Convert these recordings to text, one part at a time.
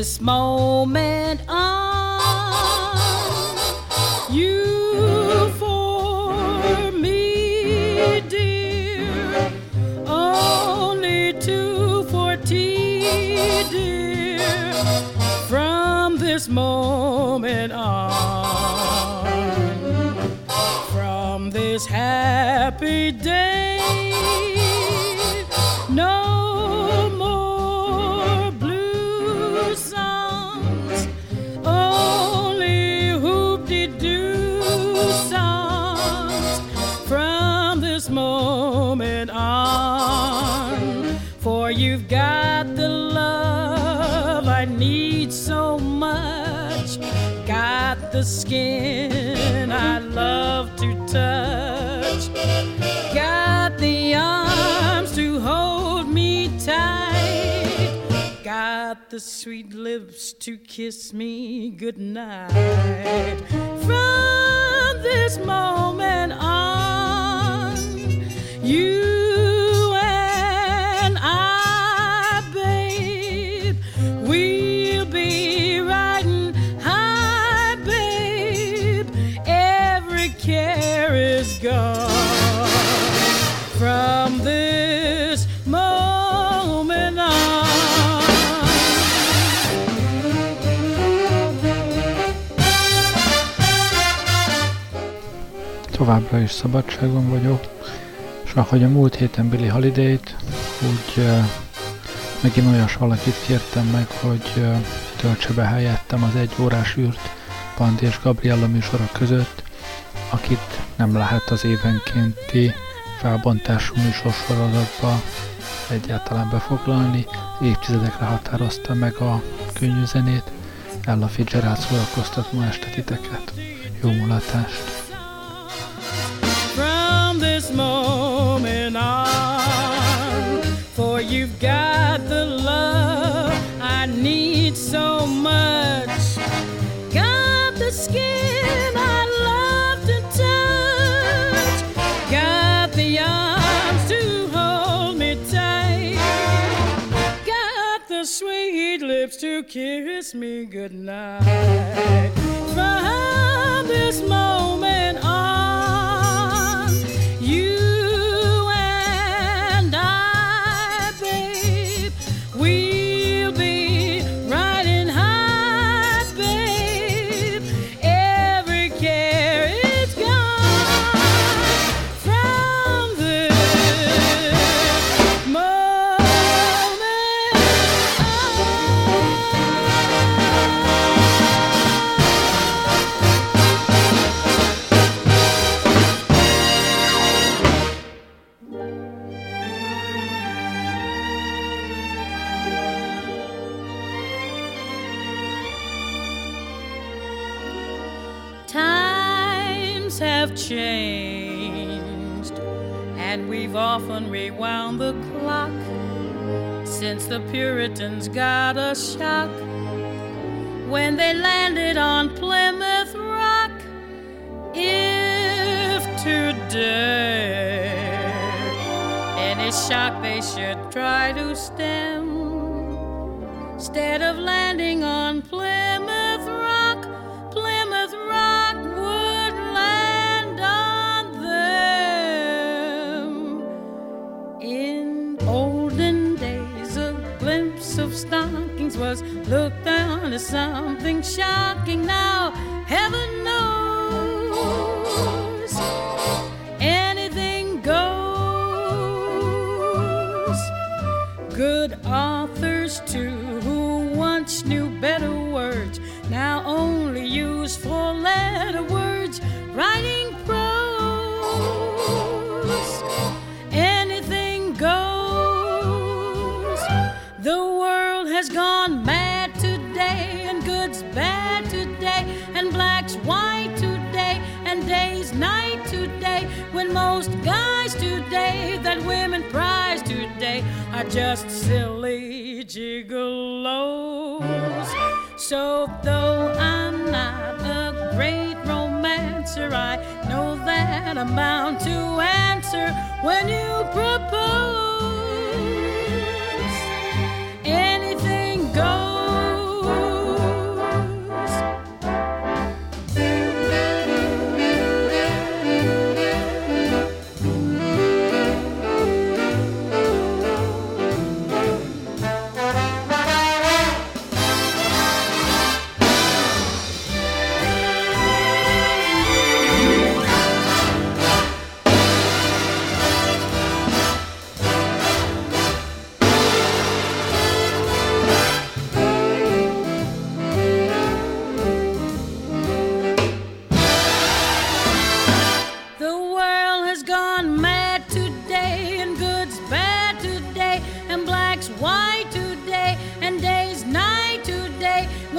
this moment on, you for me, dear, only 2:40, dear, from this moment on, from this happy day, no more blue songs, only hoop-de-doo songs from this moment on. For you've got the love I need so much, got the skin I love to touch, got the arms to hold me tight, got the sweet lips to kiss me goodnight. From this moment on, you and I, babe, we'll be riding high, babe. Every care is gone from this moment on. Továbbra is szabadságon vagyok, és ahogy a múlt héten Billie Holiday-t, úgy megint olyas valakit kértem meg, hogy töltse be helyettem az 1 órás űrt Pandi és Gabriella műsora között, akit nem lehet az évenkénti felbontású műsorsorozatba egyáltalán befoglalni. Évtizedekre határozta meg a könnyű zenét. Ella Fitzgerald szórakoztat ma este titeket. Jó mulatást! From this moment on, for you've got the love I need so much, got the skin I love to touch, got the arms to hold me tight, got the sweet lips to kiss me goodnight. From this moment on, you and I, babe, we'll be riding high, babe. Every care is gone from this moment Times have changed, and we've often rewound the clock since the Puritans got a shock when they landed on Plymouth Rock. If today any shock they should try to stem, instead of landing on Plymouth Rock, Plymouth Rock would land on them. In olden days, a glimpse of stockings was looked on as something shocking. Now, heaven knows, anything goes. Good authors, too, who once knew better words, now only use four-letter words, writing prose. Anything goes. The world has gone mad today, and good's bad today, and black's white today, and day's night today, when most guys today that women prize today are just silly gigolos. So though I'm not a great romancer, I know that I'm bound to answer when you propose. Anything goes.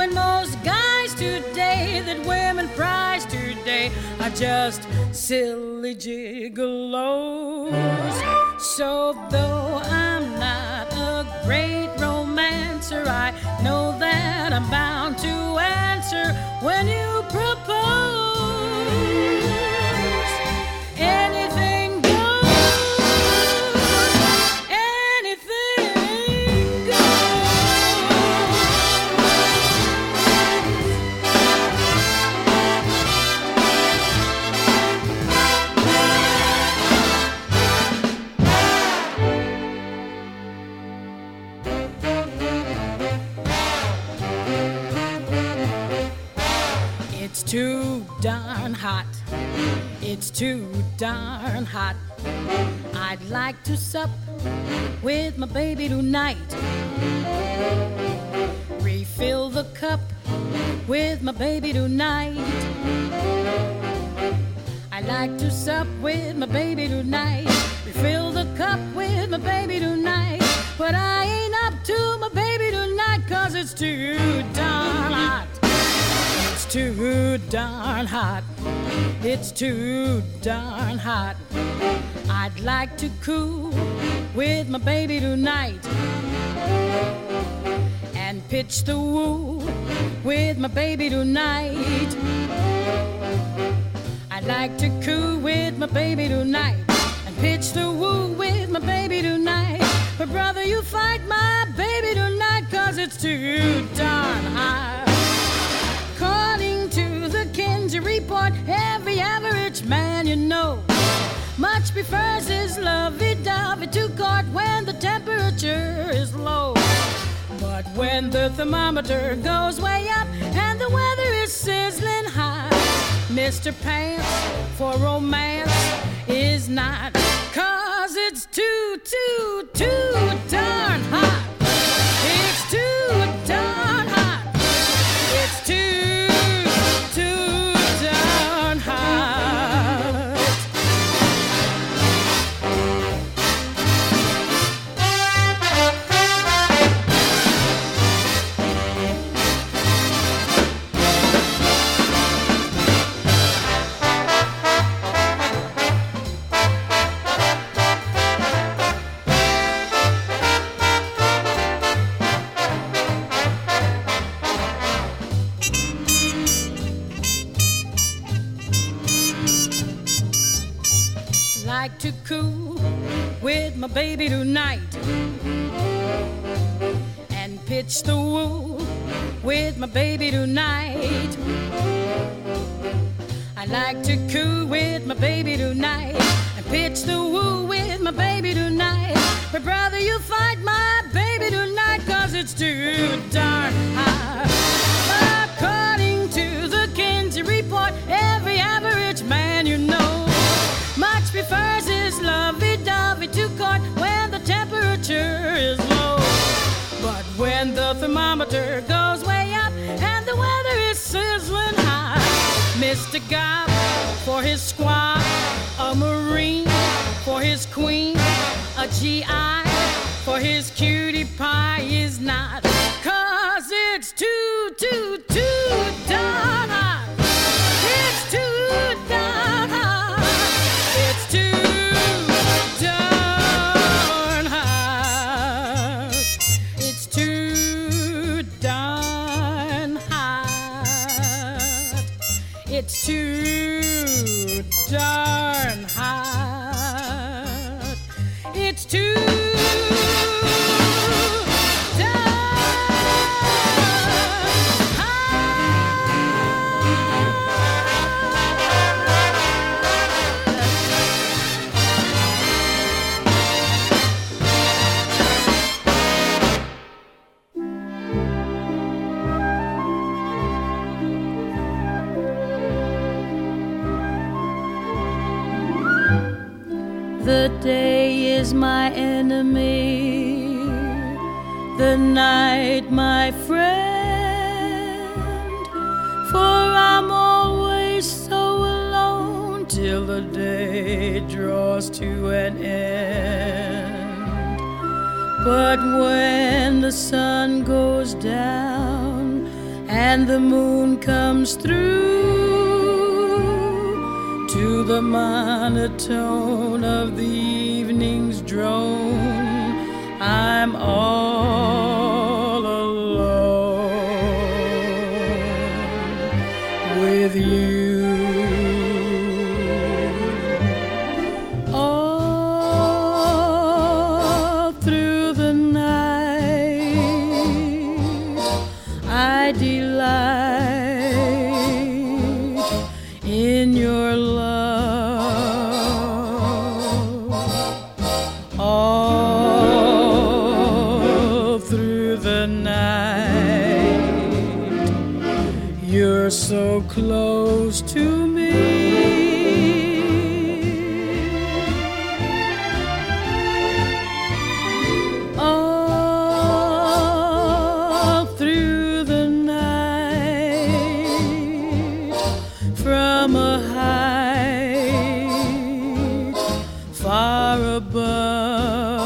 when most guys today that women prize today are just silly gigolos. So though I'm not a great romancer, I know that I'm bound to answer when you propose. Anything goes, anything goes. It's too darn hot. It's too darn hot. I'd like to sup with my baby tonight. Refill the cup with my baby tonight. I'd like to sup with my baby tonight. Refill the cup with my baby tonight. But I ain't up to my baby tonight, 'cause it's too darn hot. It's too darn hot. It's too darn hot. I'd like to cool with my baby tonight and pitch the woo with my baby tonight. I'd like to cool with my baby tonight and pitch the woo with my baby tonight. But brother, you fight my baby tonight, 'cause it's too darn hot. According to the Kinsey report, every average man you know much prefers his lovey-dovey to court when the temperature is low. But when the thermometer goes way up and the weather is sizzling hot, Mr. Pants for romance is not, 'cause it's too darn hot. It's too darn hot. It's too darn hot. Like to cool with my baby tonight and pitch the woo with my baby tonight. I like to cool with my baby tonight and pitch the woo with my baby tonight. But brother, you fight my baby tonight, 'cause it's too darn hot. According to the Kinsey report, every average man you know much prefers his lovey-dovey to court when the temperature is low. But when the thermometer goes way up and the weather is sizzling hot, Mr. Gob for his squaw, a Marine for his queen, a GI for his cutie pie is not, 'cause it's too darn hot. It's too darn hot. It's too darn hot. It's too darn hot. It's too darn hot. It's too The day is my enemy, the night my friend, for I'm always so alone till the day draws to an end. But when the sun goes down and the moon comes through to the monotone of the evening's drone. I'm all alone with you. So close to me, all through the night, from a height far above,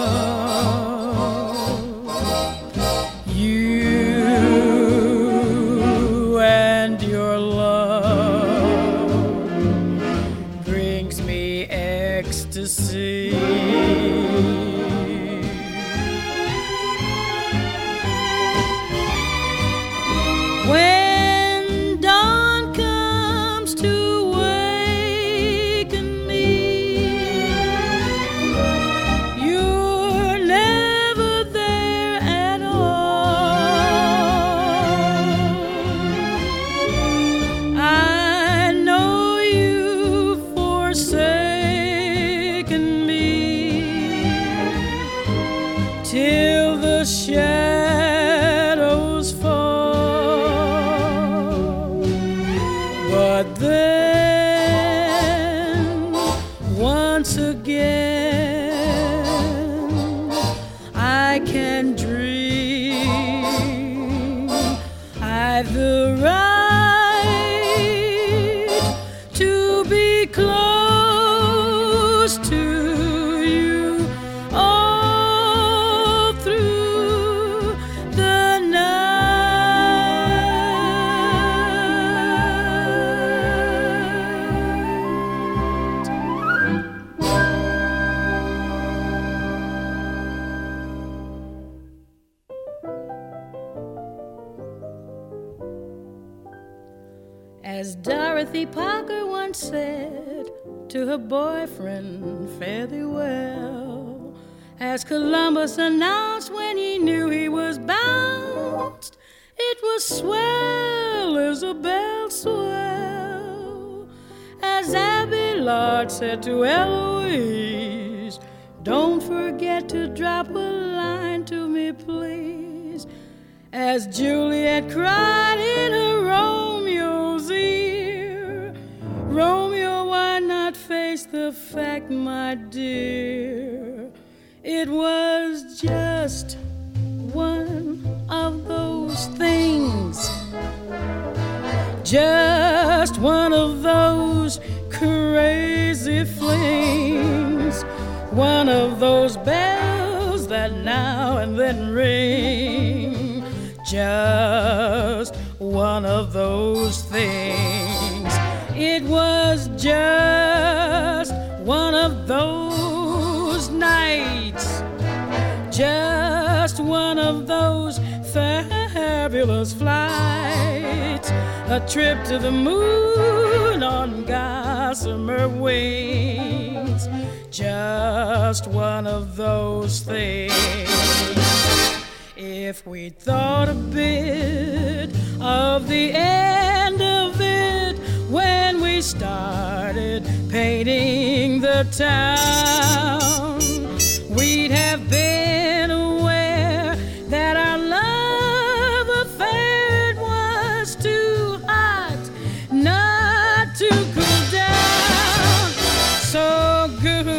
as Dorothy Parker once said to her boyfriend, fare thee well. As Columbus announced when he knew he was bounced, it was swell, Isabel, swell. As Abelard said to Eloise, don't forget to drop a line to me, please. As Juliet cried in her Romeo's ear, Romeo, why not face the fact, my dear? It was just one of those things, just one of those crazy flings, one of those bells that now and then ring, just one of those things. It was just one of those nights, just one of those fabulous flights, a trip to the moon on gossamer wings, just one of those things. If we thought a bit of the end of it when we started painting the town, we'd have been aware that our love affair was too hot not to cool down. So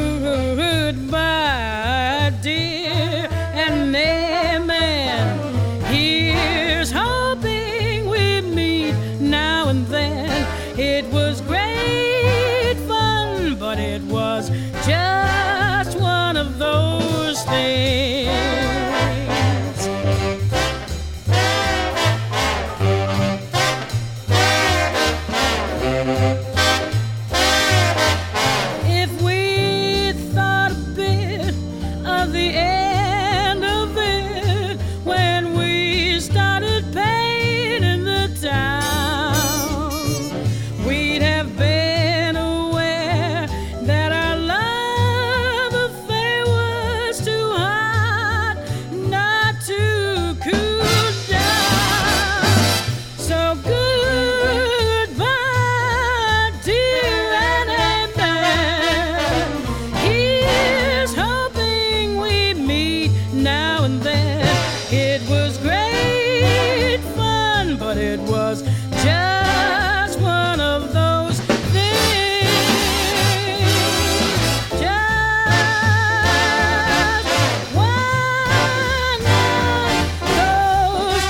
goodbye, dear, and amen. Here's hoping we meet now and then. It was great fun, but it was just one of those things. the end of it when we started painting the town. We'd have been aware that our love affair was too hot not to cool down. So goodbye, dear, and amen. Here's hoping we meet now and then. It was great fun, but it was just one of those things. Just one of those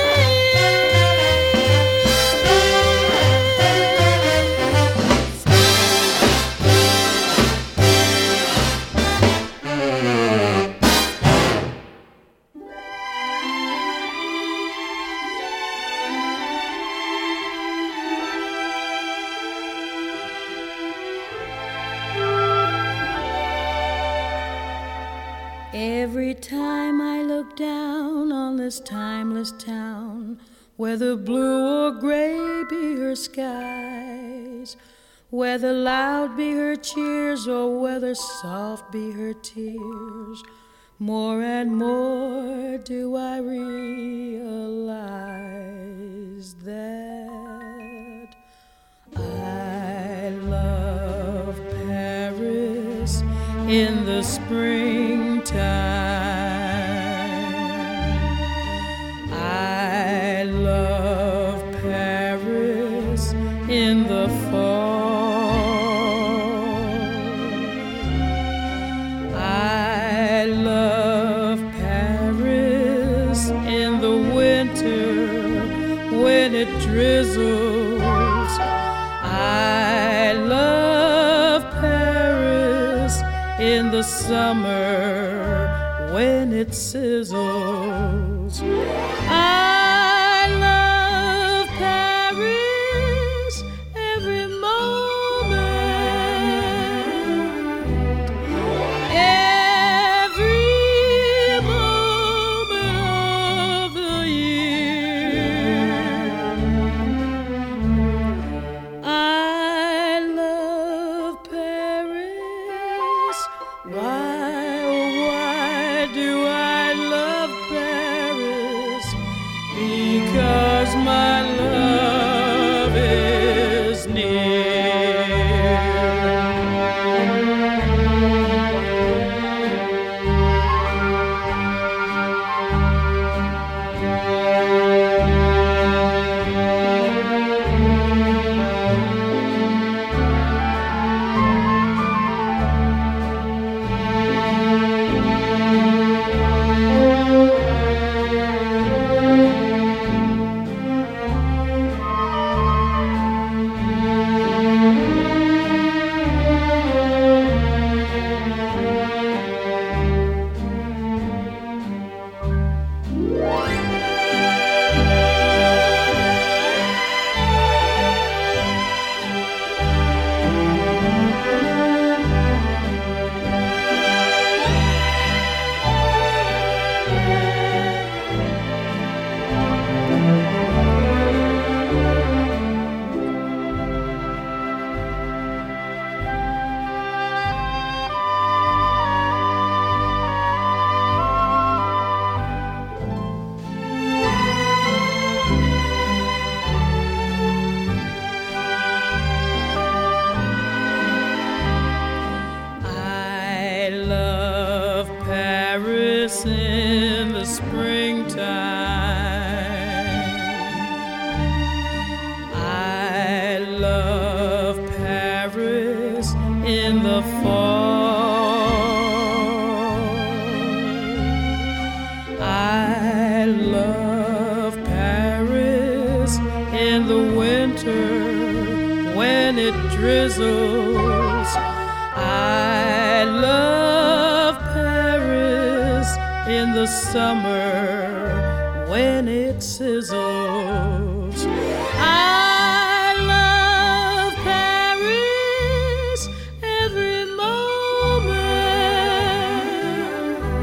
Every time I look down on this timeless town, whether blue or gray be her skies, whether loud be her cheers or whether soft be her tears, more and more do I realize that I love Paris in the springtime. I love Paris in the fall. I love Paris in the winter when it drizzles. I love Paris in the summer when it sizzles. I love Paris every moment, every moment of the year. I love Paris. Why do I love Paris? Because my love is near. I love Paris in the springtime. I love Paris in the fall. I love Paris in the winter when it drizzles. I love Paris in the summer when it sizzles. I love Paris every moment,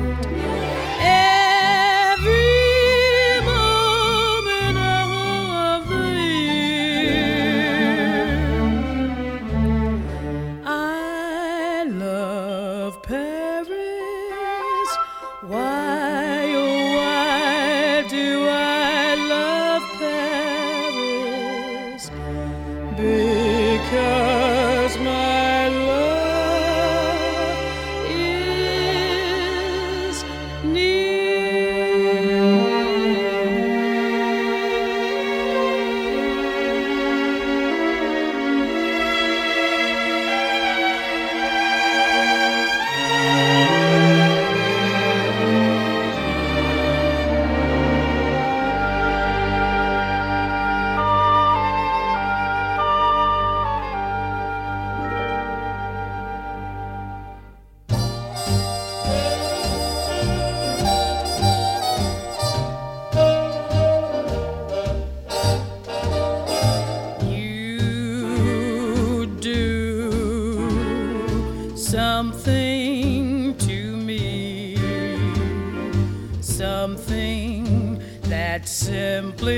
that simply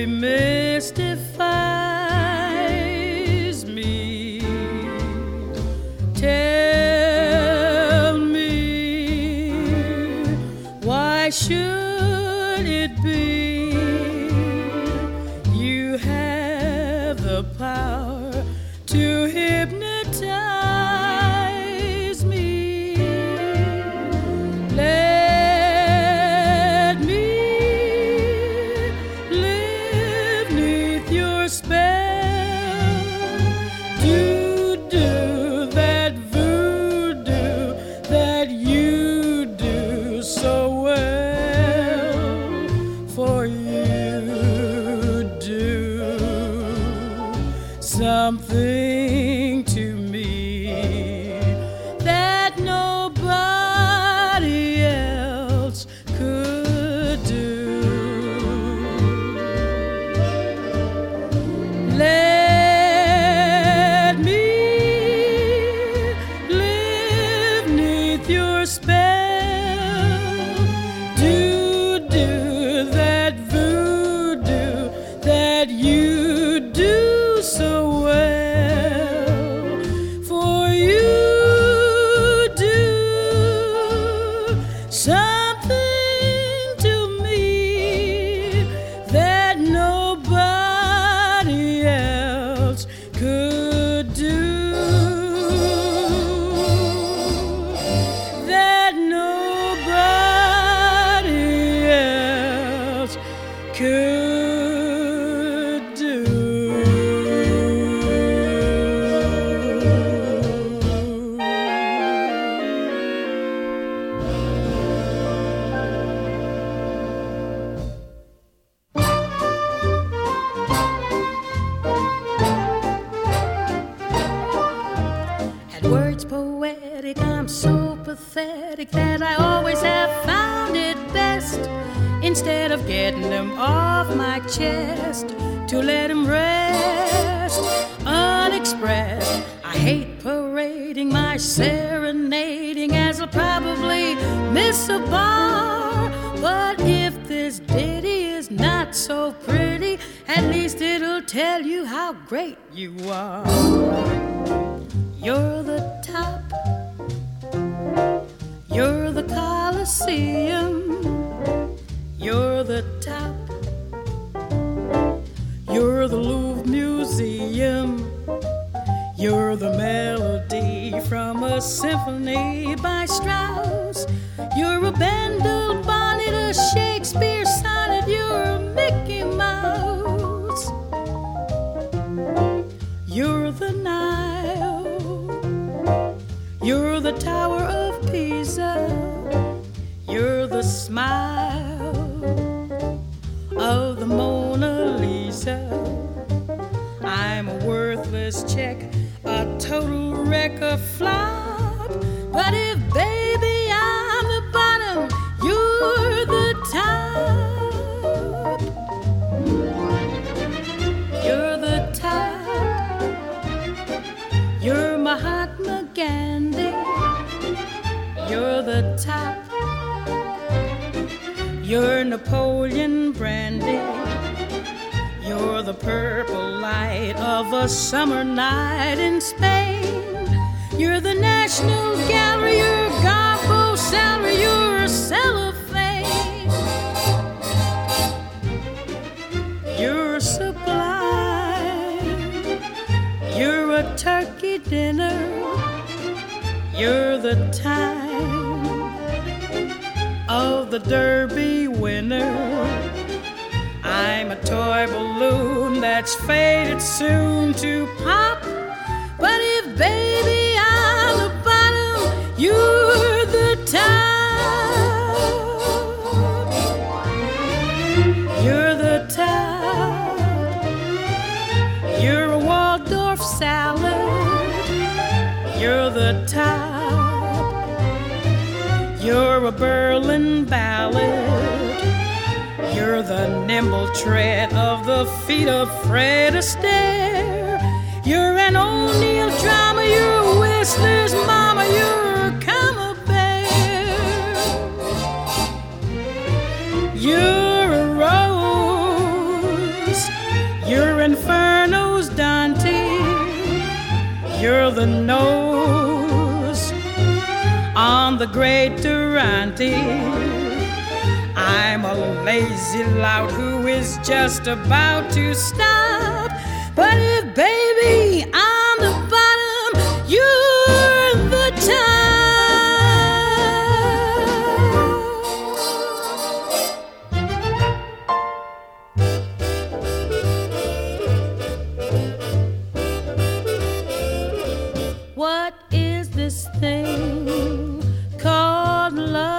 mystifies me. Tell me, why should it be you have the power to hypnotize me? Let me live neath your spell. Do that voodoo that you do so well. For you do something to me that nobody else could do. Let me live neath your spell. Do that voodoo that you do so well. For you do something to me that nobody else could do. That nobody else could do. At words poetic, I'm so pathetic that I always have found it best, instead of getting them off my chest, to let them rest unexpressed. I hate parading my serenading, as I'll probably miss a bar. But if this ditty is not so pretty, at least it'll tell you how great you are. You're the top, you're the Colosseum, you're the top, you're the Louvre Museum, you're the melody from a symphony by Strauss, you're a Bendel bonnet, a Shakespeare sonnet, you're a Mickey Mouse, you're the Nile, you're the Tower of Pisa, you're the smile of the Mona Lisa. I'm a worthless check, a total wreck, a flop. But if baby I'm the bottom, you're the top. You're the top. You're Mahatma Gandhi. You're the top. You're Napoleon Brandy. You're the purple light of a summer night in Spain. You're the National Gallery, you're Garbo salary, you're a cellophane. You're sublime. You're a turkey dinner. You're the time of the Derby winner. I'm a toy balloon that's fated soon to pop. But if baby I'm the bottom, you're the top. You're the top. You're a Waldorf salad. You're the top. You're a Berlin ballad. You're the nimble tread of the feet of Fred Astaire. You're an O'Neill drama, you're a Whistler's mama, you're a Camembert. You're a rose the nose on the great Durante. I'm a lazy lout who is just about to stop. But if, baby, I'm the bottom, you're the top. What is this thing called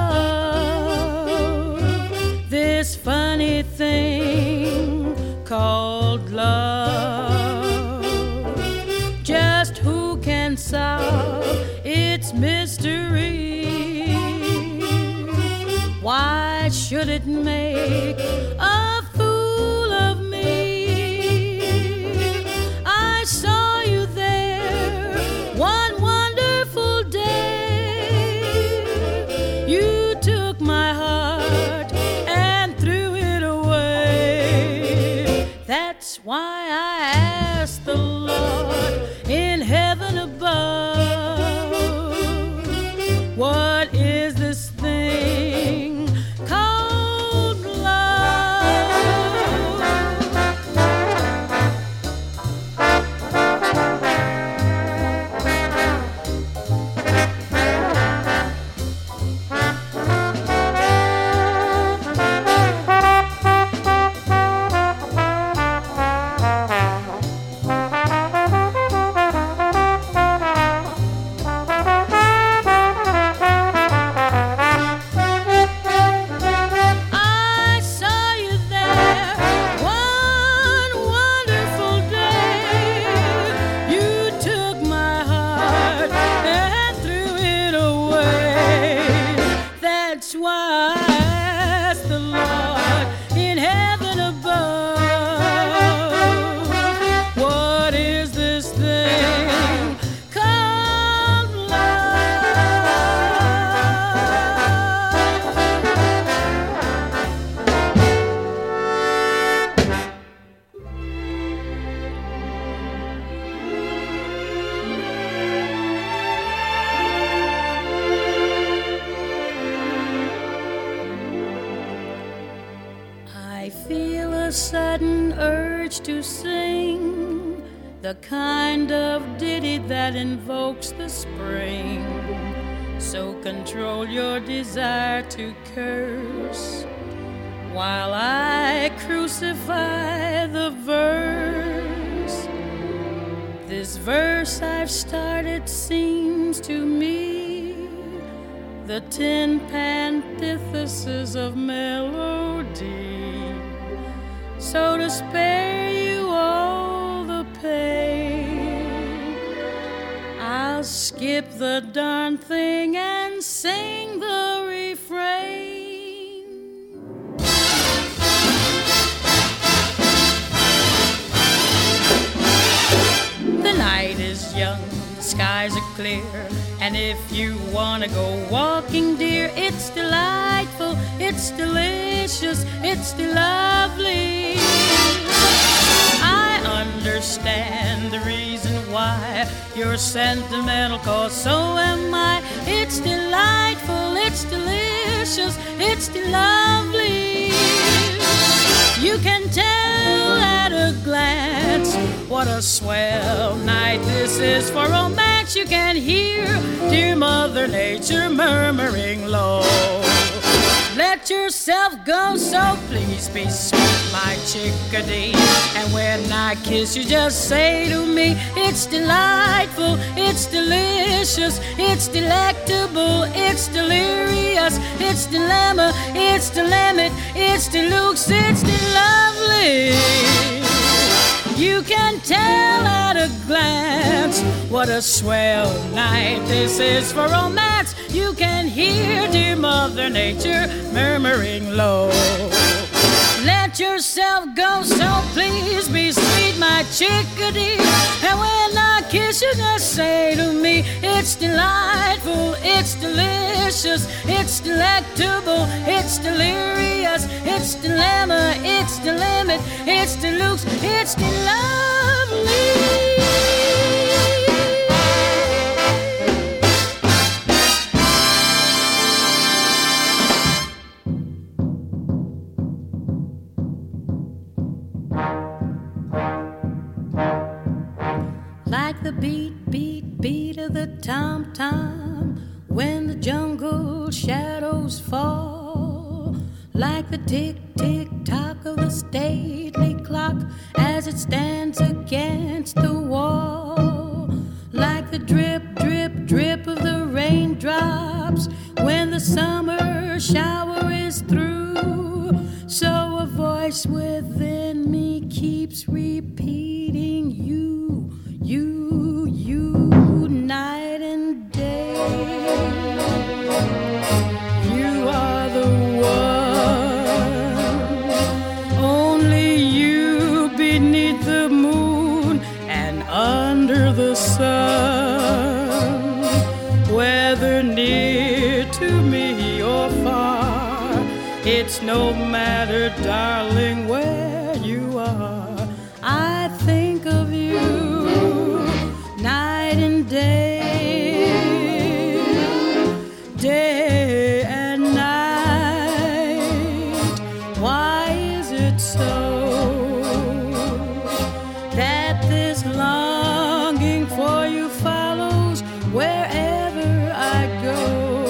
love? This funny thing called love. Just who can solve its mystery? Why should it make a fool of me? I saw you there one wonderful day. You took my heart and threw it away. That's why I asked the Lord in heaven above, what is this thing called love? I saw you there one wonderful day. You took my heart and threw it away. That's why I asked the Lord in heaven above, what is this thing called love? I feel a sudden urge to sing the kind of ditty that invokes the spring. So control your desire to curse while I crucify the verse. This verse I've started seems to me the tin antithesis of melody. So to spare you all the pain, I'll skip the darn thing and sing the refrain. The night is young, the skies are clear, and if you wanna go walking, dear, it's delightful, it's delicious, it's lovely. I understand the reason why you're sentimental, 'cause so am I. It's delightful, it's delicious, it's lovely. You can tell at a glance what a swell night this is for romance. You can hear dear Mother Nature murmuring low. Let yourself go, so please be sweet, my chickadee. And when I kiss you, just say to me, it's delightful, it's delicious, it's delectable, it's delirious, it's dilemma, it's dilemma, it's deluxe, it's lovely. You can tell at a glance what a swell night this is for romance. You can hear dear Mother Nature murmuring low. Let yourself go, so please be sweet, my chickadee. And when I kiss you, just say to me, it's delightful, it's delicious, it's delectable, it's delirious, it's dilemma, it's the limit, it's deluxe, it's lovely. tom-tom when the jungle shadows fall, like the tick-tick-tock of the stately clock as it stands against the wall, like the drip-drip-drip of the raindrops when the summer shower is through. So a voice within me keeps repeating you, you, you, night and day. You are the one, only you beneath the moon and under the sun. Whether near to me or far, it's no matter, darling, where you are. I think of you night and day, day and night. Why is it so that this longing for you follows wherever I go?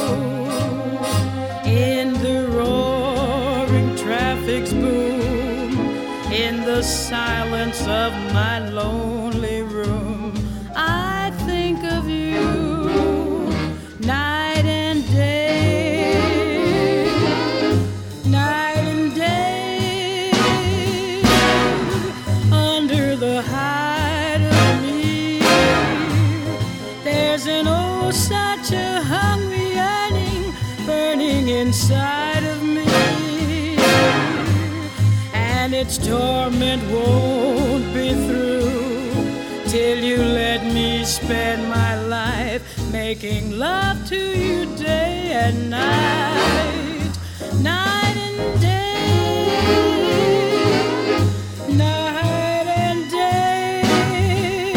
In the roaring traffic's boom, in the silence of my lonely room, I think of you night and day, night and day. Under the hide of me, there's an oh such a hungry yearning burning inside of me, and its torment won't be through till you let me spend my life making love to you day and night, night and day, night and day.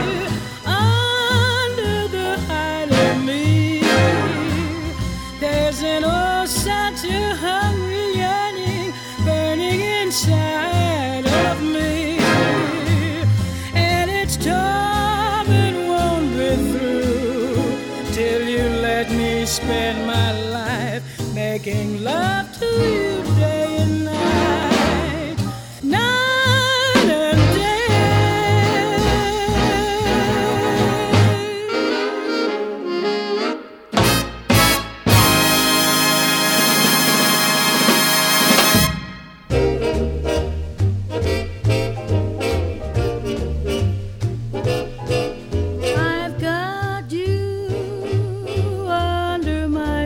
Under the hide of me, there's an oh such a hungry yearning burning inside of me, and its torment won't be through till you let me spend my life making love to you day and night, night and I've got you under my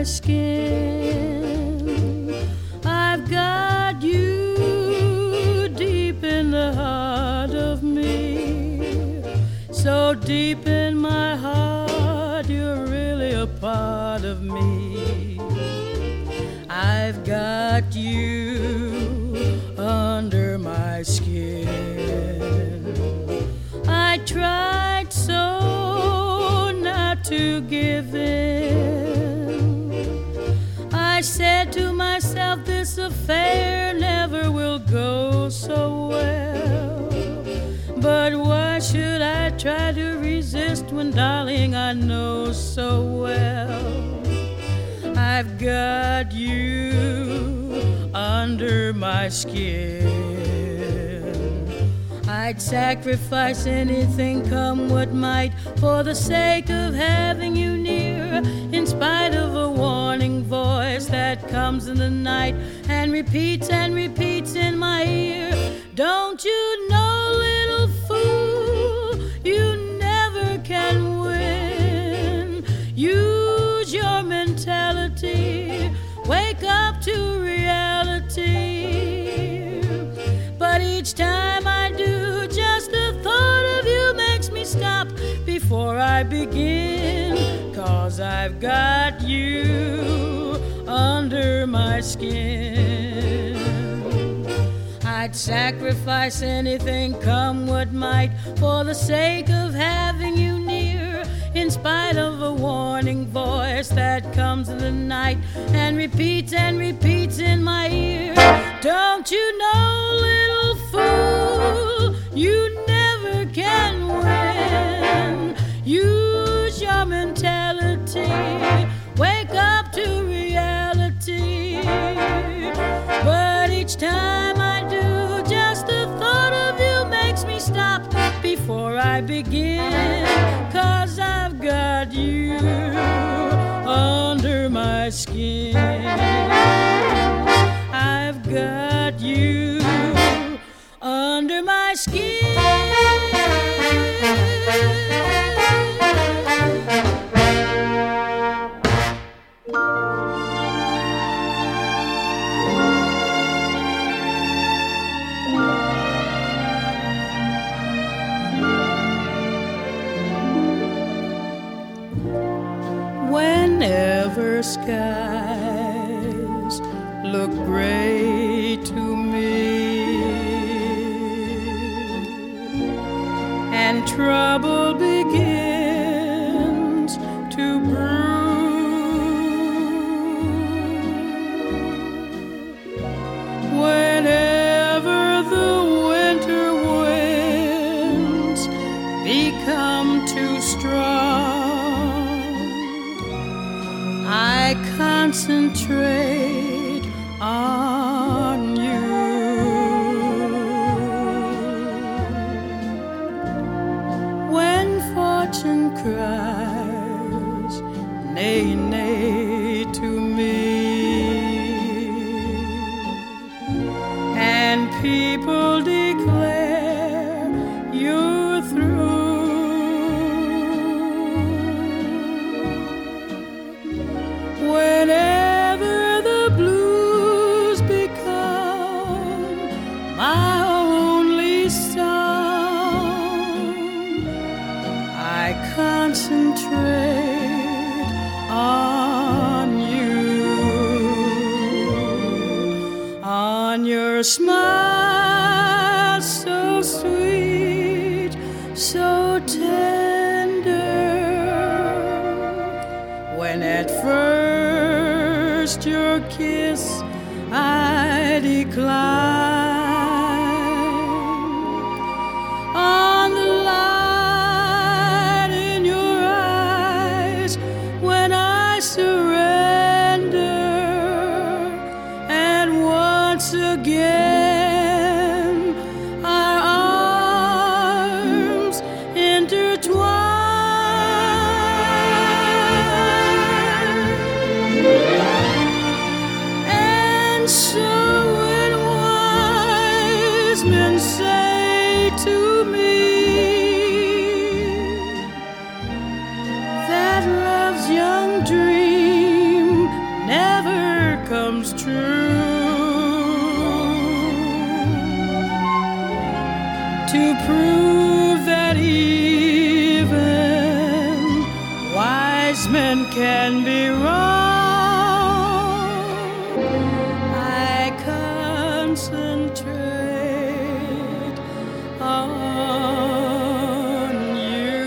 skin. I've got you deep in the heart of me. So deep in my heart, you're really a part of me. I've got you under my skin. I tried so not to give in. I said to myself, this affair never will go so well. But why should I try to resist when, darling, I know so well I've got you under my skin. I'd sacrifice anything, come what might, for the sake of having you near, in spite of a warning voice that comes in the night and repeats in my ear. Don't you know, little fool, you never can win. Use your mentality, wake up to reality. But each time I do, just the thought of you makes me stop before I begin. 'Cause I've got you under my skin. I'd sacrifice anything, come what might, for the sake of having you near, in spite of a warning voice that comes in the night and repeats in my ear. Don't you know, little fool, you never can win. Use your mentality, wake up to reality. But each time I do, just the thought of you makes me stop before I begin. 'Cause I've got you under my skin. I've got you under my skin. Whenever skies look gray to me and trouble begins to brew, whenever the winter winds become too strong, I concentrate on you. When fortune cries, nay, nay to me, and people declare you're through, whenever the blues become my only song, I concentrate on you, on your smile so sweet, so tender, when at first your kiss I decline, on the light in your eyes when I surrender, and once again our arms intertwine. And so when wise men say to me that love's young dream never comes true, to prove that even wise men can be wrong, I concentrate on you.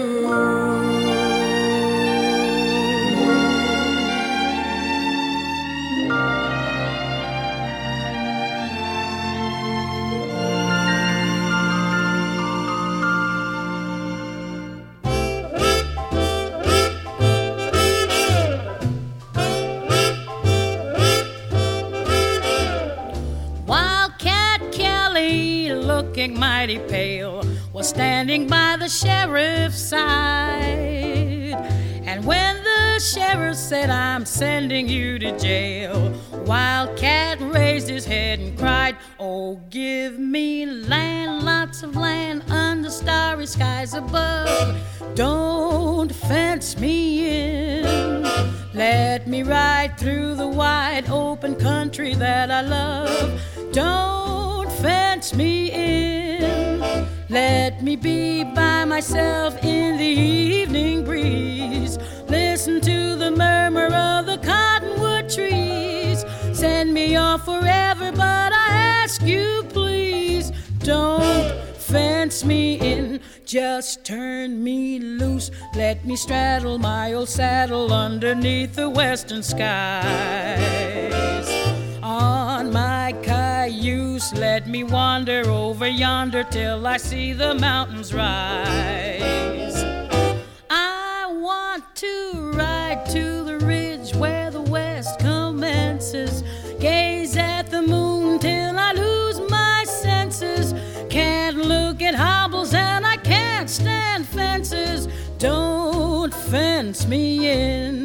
Wildcat Kelly, looking mighty pale, was standing by the sheriff's side. And when the sheriff said, "I'm sending you to jail," Wildcat raised his head and cried, "Oh, give me land, lots of land under starry skies above. Don't fence me in. Let me ride through the wide open country that I love. Don't fence me in. Let me be by myself in the evening breeze. Listen to the murmur of the cottonwood trees. Send me off forever, but I ask you please, don't fence me in. Just turn me loose. Let me straddle my old saddle underneath the western skies. On my cayuse, let me wander over yonder till I see the mountains rise. I want to ride ride to the ridge where the west commences. Gaze at the moon till I lose my senses. Can't look at hobbles and I can't stand fences. Don't fence me in.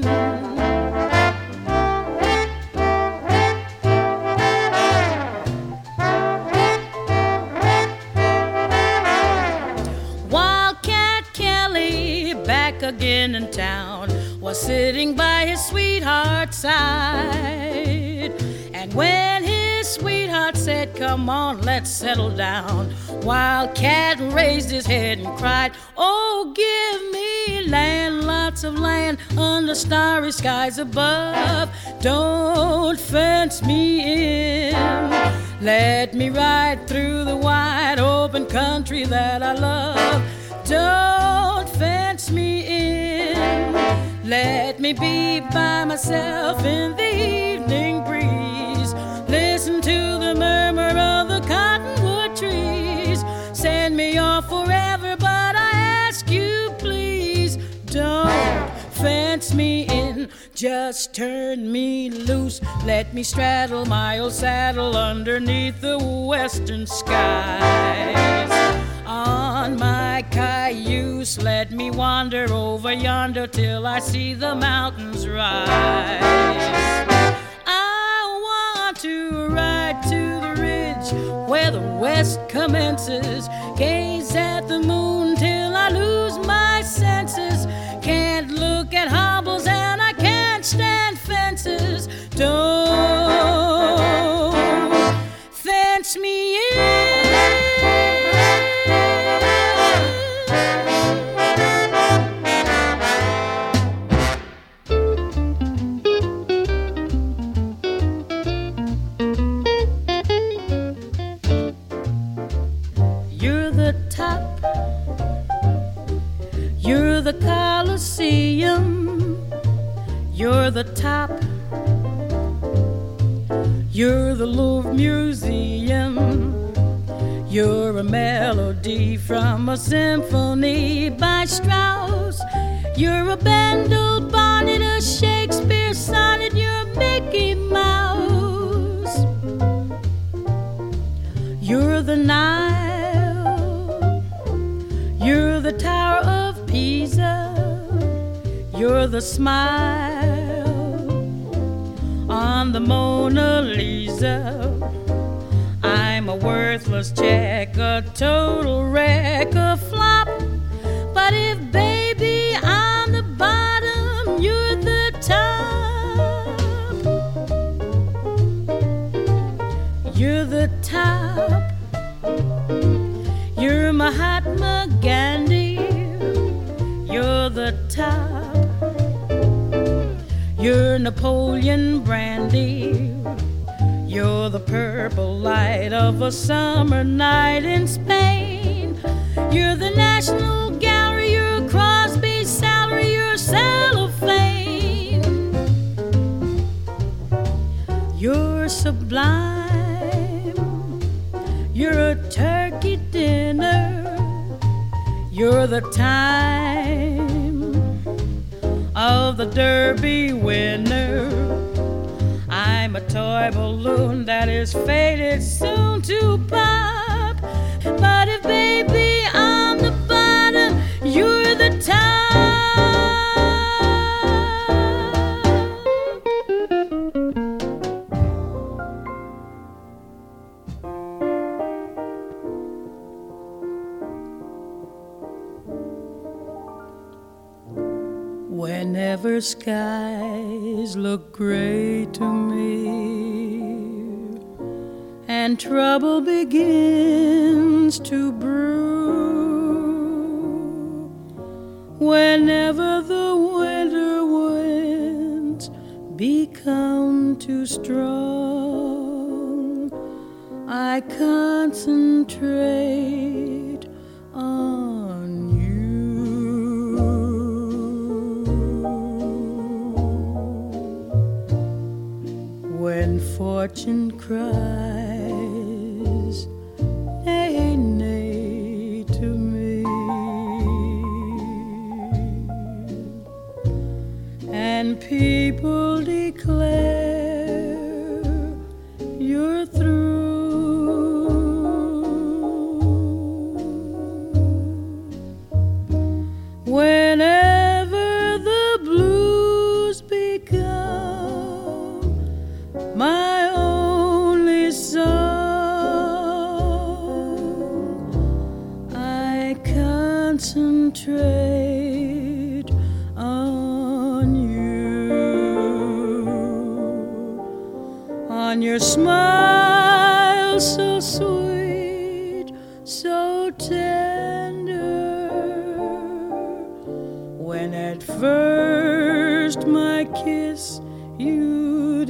Wildcat Kelly, back again in town, was sitting by his sweetheart's side. And when his sweetheart said, "Come on, let's settle down," Wildcat raised his head and cried, "Oh, give me land, lots of land under starry skies above. Don't fence me in. Let me ride through the wide open country that I love. Don't fence me in. Let me be by myself in the evening breeze. Listen to the murmur of the cottonwood trees. Send me off forever, but I ask you please, don't fence me in. Just turn me loose. Let me straddle my old saddle underneath the western skies. On my cayuse, let me wander over yonder till I see the mountains rise. I want to ride to the ridge where the west commences. Gaze at the moon till I lose my senses. Can't look at hobbles and I can't stand fences. Don't fence me in. You're the Coliseum, you're the top, you're the Louvre Museum, you're a melody from a symphony by Strauss, you're a Bendel bonnet, a Shakespeare sonnet, you're Mickey Mouse, you're the Nile, you're the Tower of Pisa, you're the smile on the Mona Lisa. I'm a worthless check, a total wreck, a flop. But if baby I'm the bottom, you're the top. You're the top. You're Mahatma Gandhi. You're the top. You're Napoleon Brandy. You're the purple light of a summer night in Spain. You're the National Gallery. You're Crosby's salary. You're cellophane. You're sublime. You're a turkey dinner. You're the time of the Derby winner. I'm a toy balloon that is fated soon to pop. But if baby I'm the bottom, you're the top. Whenever skies look gray to me and trouble begins to brew, whenever the winter winds become too strong, I concentrate on you. When fortune cries, nay, nay to me, and and people declare you're through. Whenever the blues become my only song, I concentrate on your smile so sweet, so tender. When at first my kiss you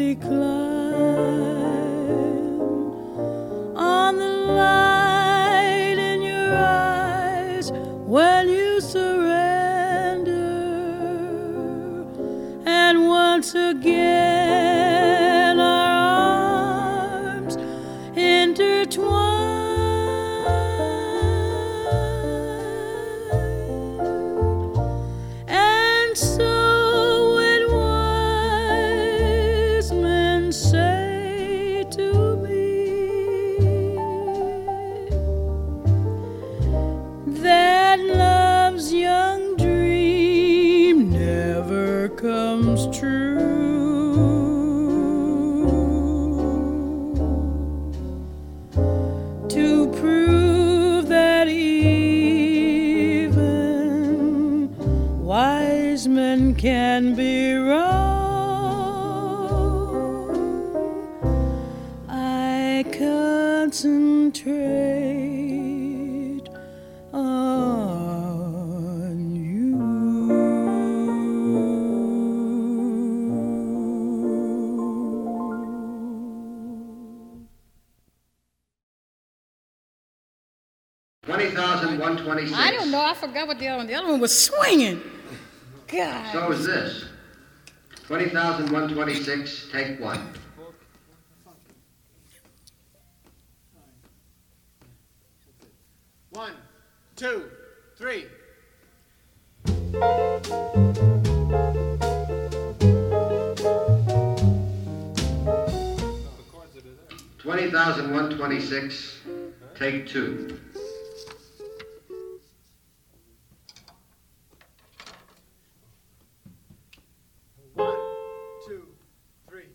decline, on the light in your eyes when you surrender, and once again our arms intertwine. And so when wise men say to me that love's young dream never comes true, to prove that even wise men can be wrong, I concentrate on you. $20,126. I don't know. I forgot what the other one. The other one was swinging. God. So is this. 20,126, take one. One, two, three. 20,126, take two. One, two, three.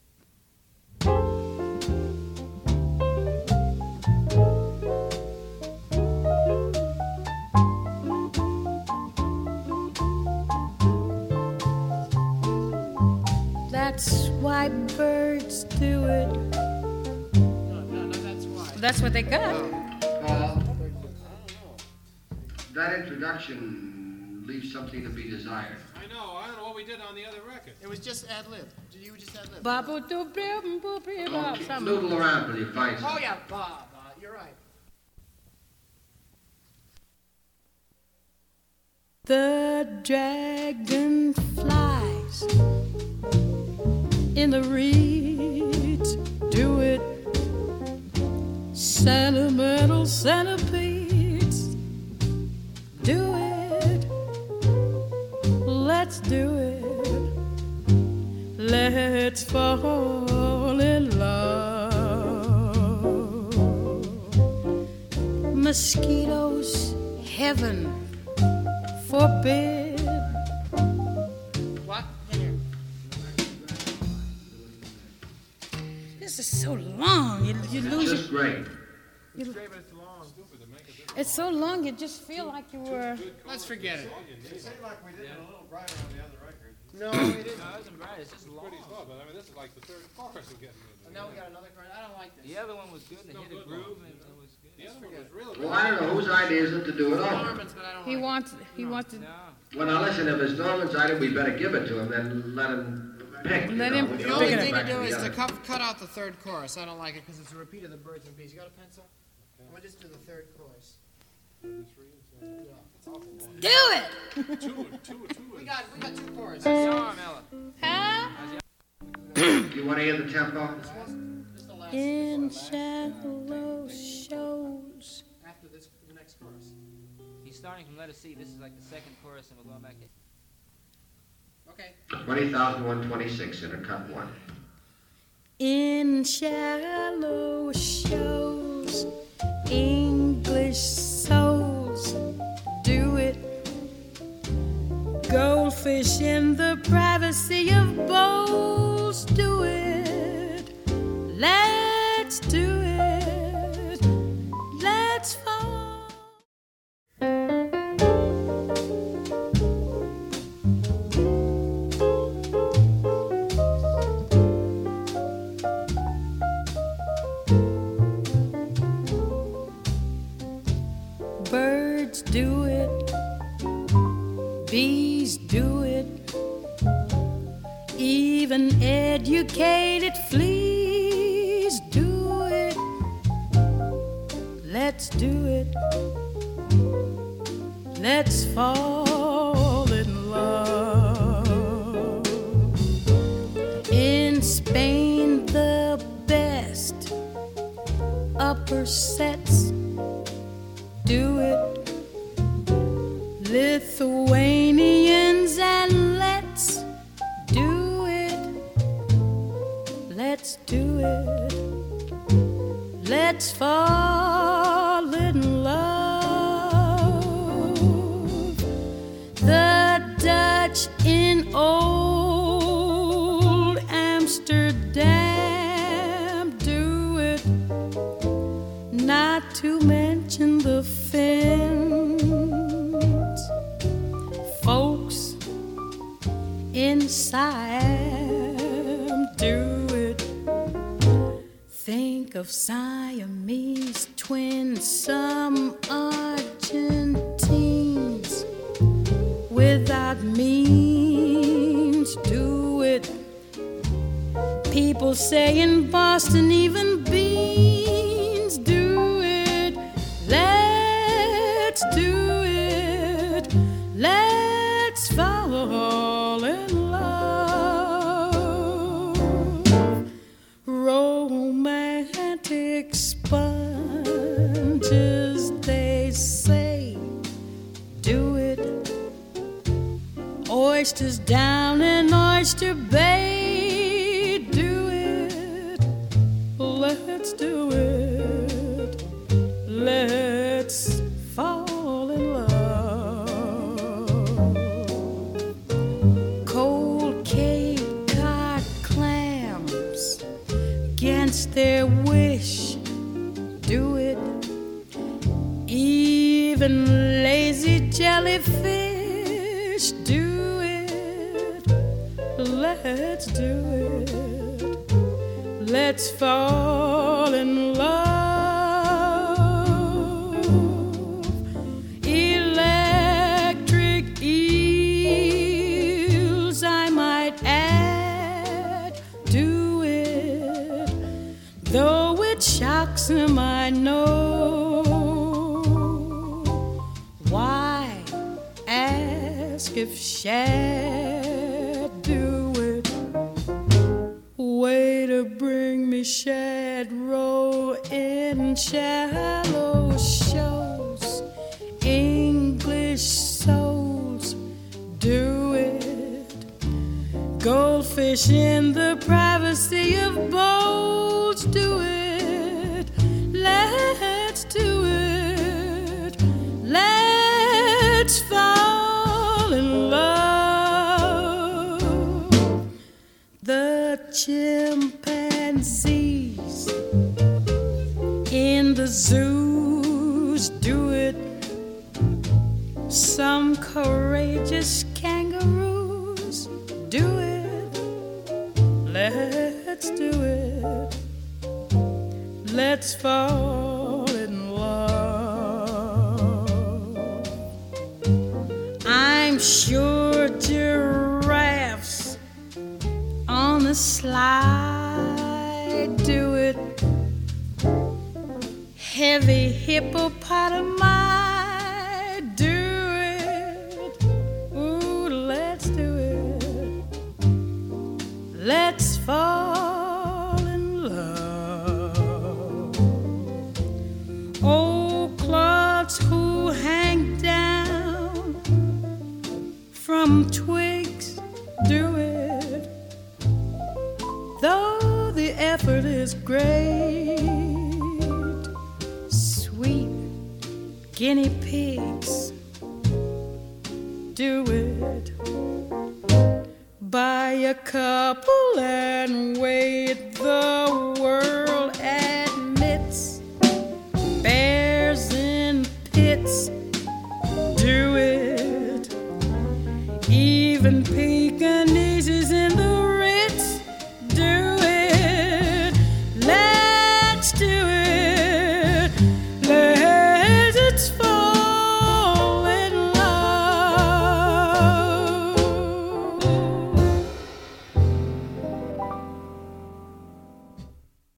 That's why birds do it. No, that's why. That's what they got. Paul, that introduction leaves something to be desired. I don't know what we did on the other record. It was just ad lib. You just ad lib. Babu do brim boo brim Oh, something. noodle around till you find Oh something. yeah, Bob. You're right. The dragonflies in the reeds do it. Sentimental centipedes do it. Let's do it. Let's fall in love. Mosquitoes, heaven forbid. What? Here. This is so long. You lose Just great. It's so long. You just feel like you were. Let's forget it. It seemed like we did it a little brighter on the other record. No, we didn't. No, it wasn't bright. It's just long. Pretty slow, but I mean, this is like the third chorus we're getting into. Now we got another card. I don't like this. The other one was good. They hit a groove and it was good. The other one was really Well, I don't know whose idea is it to do it over. Norman's, but I don't He like wants. He wants to. No. Well, now listen, if it's Norman's idea, we better give it to him, then let him pick. you Let know. him We it. can The pick always only it go thing to back do the is to other. cut out the third chorus. I don't like it because it's a repeat of the birds and bees. You got a pencil? We'll just do the third chorus. Do it. We got two choruses. How's your arm, Ella? Huh? You want to hear the tempo? Just the last In shallow shows. after this, the next chorus. He's starting from Let Us See. This is like the second chorus and we're going back in. Okay. 20,126 in a cut one. In shallow shows, English souls do it. Goldfish in the privacy of bowls do it. Let's do it. Let's fall. Birds do it, bees do it, even educated fleas do it. Let's do it. Let's fall in love. In Spain, the best upper sets do it. Lithuanians and let's do it. Let's do it. Let's fall in love. The Dutch in old Amsterdam do it. Not to mention the Finns, folks in Siam do it. Think of Siamese twins, some Argentines without means do it. People say in Boston even beans do it. Let's do it. Let's fall in love. Romantic sponges, they say, do it. Oysters down in Oyster Bay, do it. Let's do it. Let's fall in love. Cold Cape Cod clams, against their wish, do it. Even lazy jellyfish, do it. Let's do it. Let's fall in love. Electric eels, I might add, do it. Though it shocks them, I know. Why ask if shad do it? Way to bring me shad roe in shallow shows. English souls do it. Goldfish in the privacy of bowls do it. Let's do it. Let's fall in love. The chimpanzees in the zoos do it. Some courageous kangaroos do it. Let's do it. Let's fall in love. I'm sure giraffes on the slide do it. Heavy hippopotami do it. Ooh, let's do it. Let's fall in love. Old clods who hang down from twigs is great. Sweet guinea pigs do it. Buy a couple and wait, the world admits. Bears in pits do it. Even pigs